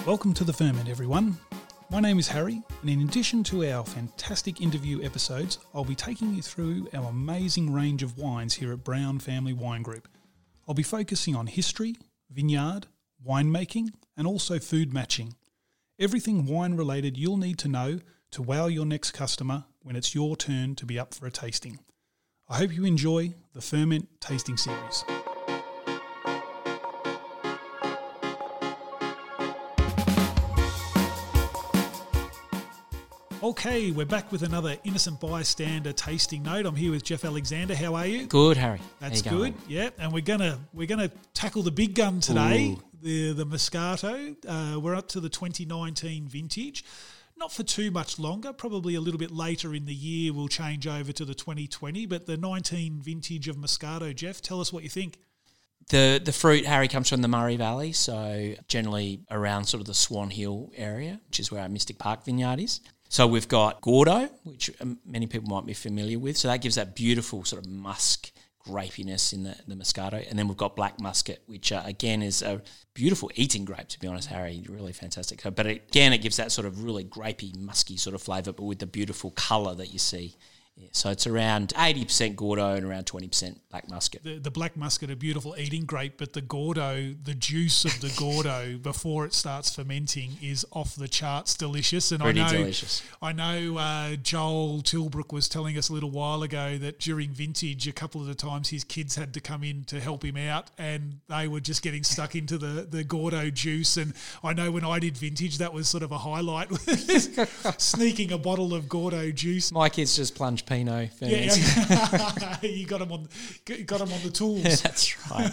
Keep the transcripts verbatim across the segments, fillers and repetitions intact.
Welcome to The Ferment, everyone. My name is Harry, and in addition to our fantastic interview episodes, I'll be taking you through our amazing range of wines here at Brown Family Wine Group. I'll be focusing on history, vineyard, winemaking, and also food matching. Everything wine-related you'll need to know to wow your next customer when it's your turn to be up for a tasting. I hope you enjoy the Ferment Tasting Series. Okay, we're back with another Innocent Bystander tasting note. I'm here with Jeff Alexander. How are you? Good, Harry. That's good. Yeah, and we're gonna we're gonna tackle the big gun today, Ooh. the the Moscato. Uh, we're up to the twenty nineteen vintage. Not for too much longer. Probably a little bit later in the year we'll change over to the twenty twenty. But the nineteen vintage of Moscato, Jeff, tell us what you think. The the fruit, Harry, comes from the Murray Valley, so generally around sort of the Swan Hill area, which is where our Mystic Park vineyard is. So we've got Gordo, which many people might be familiar with. So that gives that beautiful sort of musk grapiness in the, the Moscato. And then we've got Black Muscat, which uh, again is a beautiful eating grape, to be honest, Harry. Really fantastic. So, but again, it gives that sort of really grapey, musky sort of flavour, but with the beautiful colour that you see. Yeah, so it's around eighty percent Gordo and around twenty percent Black Muscat. The, the Black Muscat, a beautiful eating grape, but the Gordo, the juice of the Gordo before it starts fermenting is off the charts delicious. And Pretty I know, delicious. I know uh, Joel Tilbrook was telling us a little while ago that during vintage, a couple of the times his kids had to come in to help him out and they were just getting stuck into the, the Gordo juice. And I know when I did vintage, that was sort of a highlight, sneaking a bottle of Gordo juice. My kids just plunge Pinot. Yeah, yeah. you got them on, got them on the tools. That's right.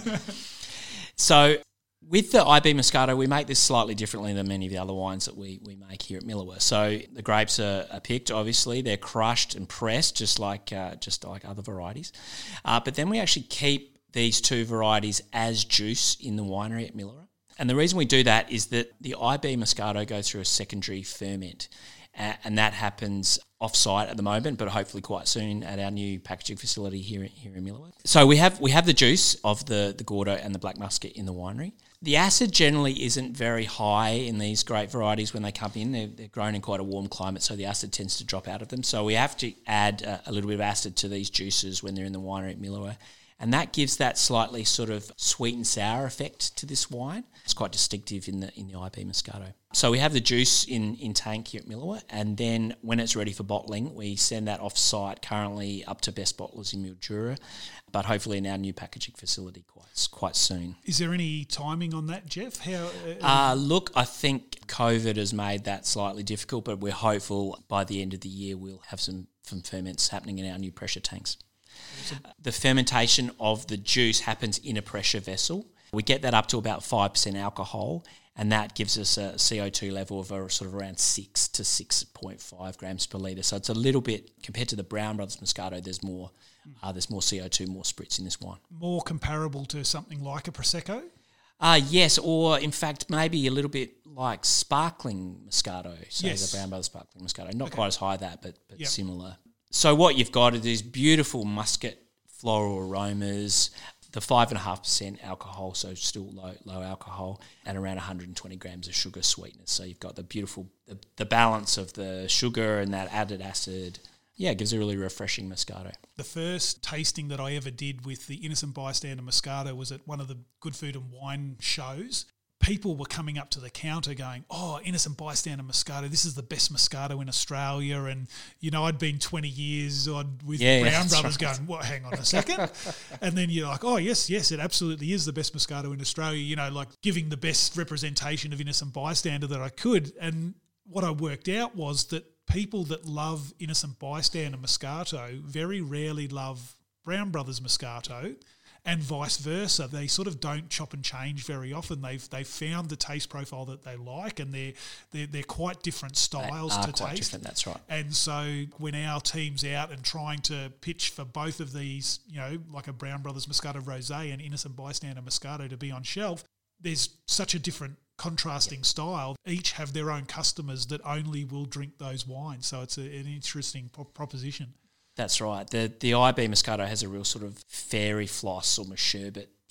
So with the I B Moscato, we make this slightly differently than many of the other wines that we, we make here at Millerworth. So the grapes are, are picked, obviously. They're crushed and pressed, just like uh, just like other varieties. Uh, but then we actually keep these two varieties as juice in the winery at Millerworth. And the reason we do that is that the I B Moscato goes through a secondary ferment. Uh, and that happens off-site at the moment, but hopefully quite soon at our new packaging facility here, here in Millerworth. So we have we have the juice of the, the Gordo and the Black Muscat in the winery. The acid generally isn't very high in these grape varieties when they come in. They're, they're grown in quite a warm climate, so the acid tends to drop out of them. So we have to add a, a little bit of acid to these juices when they're in the winery at Millerworth. And that gives that slightly sort of sweet and sour effect to this wine. It's quite distinctive in the in the I B Moscato. So we have the juice in, in tank here at Millerworth, and then when it's ready for bottling, we send that off-site currently up to Best Bottlers in Mildura, but hopefully in our new packaging facility quite quite soon. Is there any timing on that, Jeff? How? Uh, uh, look, I think COVID has made that slightly difficult, but we're hopeful by the end of the year we'll have some, some ferments happening in our new pressure tanks. The fermentation of the juice happens in a pressure vessel. We get that up to about five percent alcohol, and that gives us a C O two level of a sort of around six to six point five grams per litre. So it's a little bit, compared to the Brown Brothers Moscato, there's more uh, there's more C O two, more spritz in this wine. More comparable to something like a Prosecco? Uh, yes, or in fact maybe a little bit like sparkling Moscato, so yes. the Brown Brothers Sparkling Moscato. Not Okay. quite as high that, but, but yep. similar. So what you've got are these beautiful muscat floral aromas, the five point five percent alcohol, so still low low alcohol, and around one hundred twenty grams of sugar sweetness. So you've got the beautiful, the, the balance of the sugar and that added acid. Yeah, it gives a really refreshing Moscato. The first tasting that I ever did with the Innocent Bystander Moscato was at one of the Good Food and Wine shows. People were coming up to the counter going, oh, Innocent Bystander Moscato, this is the best Moscato in Australia. And, you know, I'd been twenty years on with yeah, Brown yeah, Brothers right. going, what, hang on a second. And then you're like, oh, yes, yes, it absolutely is the best Moscato in Australia, you know, like giving the best representation of Innocent Bystander that I could. And what I worked out was that people that love Innocent Bystander Moscato very rarely love Brown Brothers Moscato, and vice versa. They sort of don't chop and change very often. They've they've found the taste profile that they like, and they're they're, they're quite different styles they are to quite taste. Different, that's right. And so when our team's out and trying to pitch for both of these, you know, like a Brown Brothers Moscato Rosé and Innocent Bystander Moscato to be on shelf, there's such a different contrasting yep. style. Each have their own customers that only will drink those wines. So it's a, an interesting pro- proposition. That's right. The the I B Moscato has a real sort of fairy floss, almost sherbet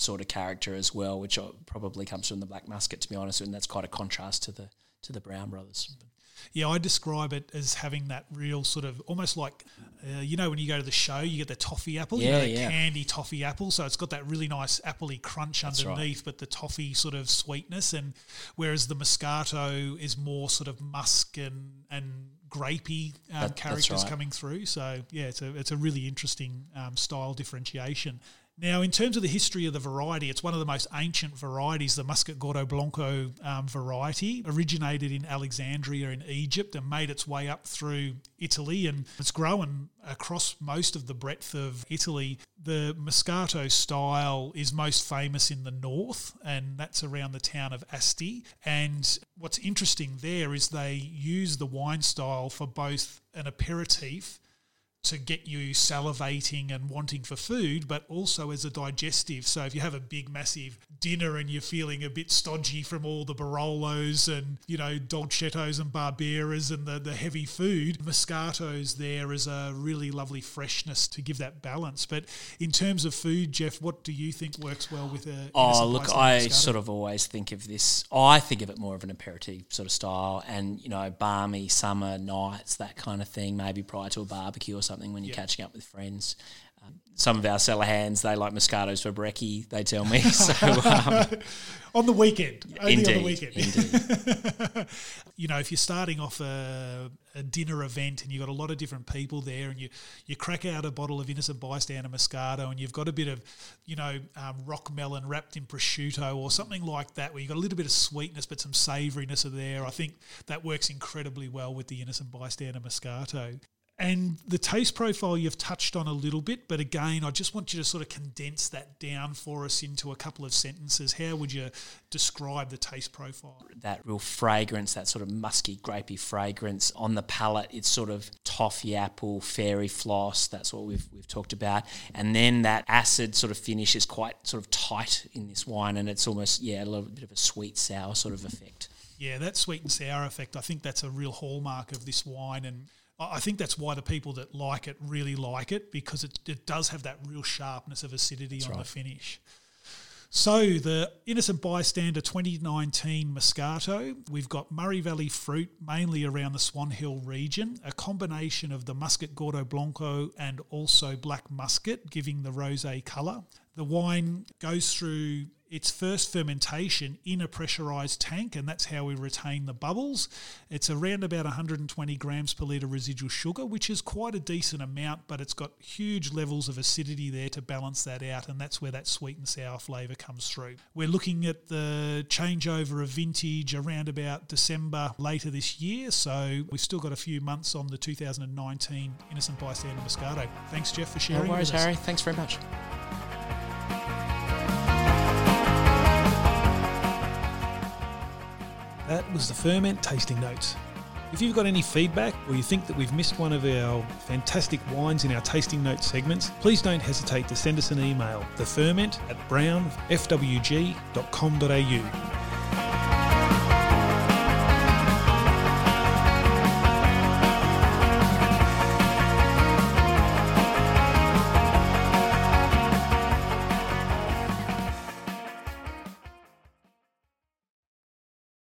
sort of character as well, which probably comes from the Black Muscat, to be honest, and that's quite a contrast to the to the Brown Brothers. Yeah, I describe it as having that real sort of almost like, uh, you know, when you go to the show, you get the toffee apple, yeah, you know, the yeah. candy toffee apple. So it's got that really nice appley crunch That's underneath, right. but the toffee sort of sweetness. And whereas the Moscato is more sort of musk and, and grapey um, that, characters right. coming through. So, yeah, it's a, it's a really interesting um, style differentiation. Now, in terms of the history of the variety, it's one of the most ancient varieties. The Muscat Gordo Blanco um, variety originated in Alexandria in Egypt and made its way up through Italy, and it's grown across most of the breadth of Italy. The Moscato style is most famous in the north, and that's around the town of Asti. And what's interesting there is they use the wine style for both an aperitif to get you salivating and wanting for food, but also as a digestive. So if you have a big, massive dinner and you're feeling a bit stodgy from all the Barolos and, you know, Dolcettos and Barberas and the, the heavy food, Moscato's there as a really lovely freshness to give that balance. But in terms of food, Jeff, what do you think works well with a Oh, look, Moscato? I sort of always think of this, I think of it more of an aperitif sort of style and, you know, balmy summer nights, that kind of thing, maybe prior to a barbecue or something. Something when you're yeah. catching up with friends. Um, some of our cellar hands, they like Moscatos for brekkie, they tell me. So um, on the weekend, only indeed, on the weekend. Indeed. You know, if you're starting off a, a dinner event and you've got a lot of different people there, and you you crack out a bottle of Innocent Bystander Moscato, and you've got a bit of, you know, um, rock melon wrapped in prosciutto or something like that, where you've got a little bit of sweetness but some savouriness of there. I think that works incredibly well with the Innocent Bystander Moscato. And the taste profile you've touched on a little bit, but again, I just want you to sort of condense that down for us into a couple of sentences. How would you describe the taste profile? That real fragrance, that sort of musky, grapey fragrance on the palate, it's sort of toffee apple, fairy floss, that's what we've we've talked about. And then that acid sort of finish is quite sort of tight in this wine, and it's almost, yeah, a little bit of a sweet, sour sort of effect. Yeah, that sweet and sour effect, I think that's a real hallmark of this wine, and I think that's why the people that like it really like it, because it, it does have that real sharpness of acidity that's on right. the finish. So the Innocent Bystander twenty nineteen Moscato, we've got Murray Valley fruit, mainly around the Swan Hill region, a combination of the Muscat Gordo Blanco and also Black Muscat, giving the rosé colour. The wine goes through its first fermentation in a pressurised tank, and that's how we retain the bubbles. It's around about one hundred twenty grams per litre residual sugar, which is quite a decent amount, but it's got huge levels of acidity there to balance that out, and that's where that sweet and sour flavour comes through. We're looking at the changeover of vintage around about December later this year, so we've still got a few months on the two thousand nineteen Innocent Bystander Moscato. Thanks, Jeff, for sharing. No worries, with us. Harry. Thanks very much. That was the Ferment Tasting Notes. If you've got any feedback or you think that we've missed one of our fantastic wines in our Tasting Notes segments, please don't hesitate to send us an email, the ferment at brown f w g dot com dot a u.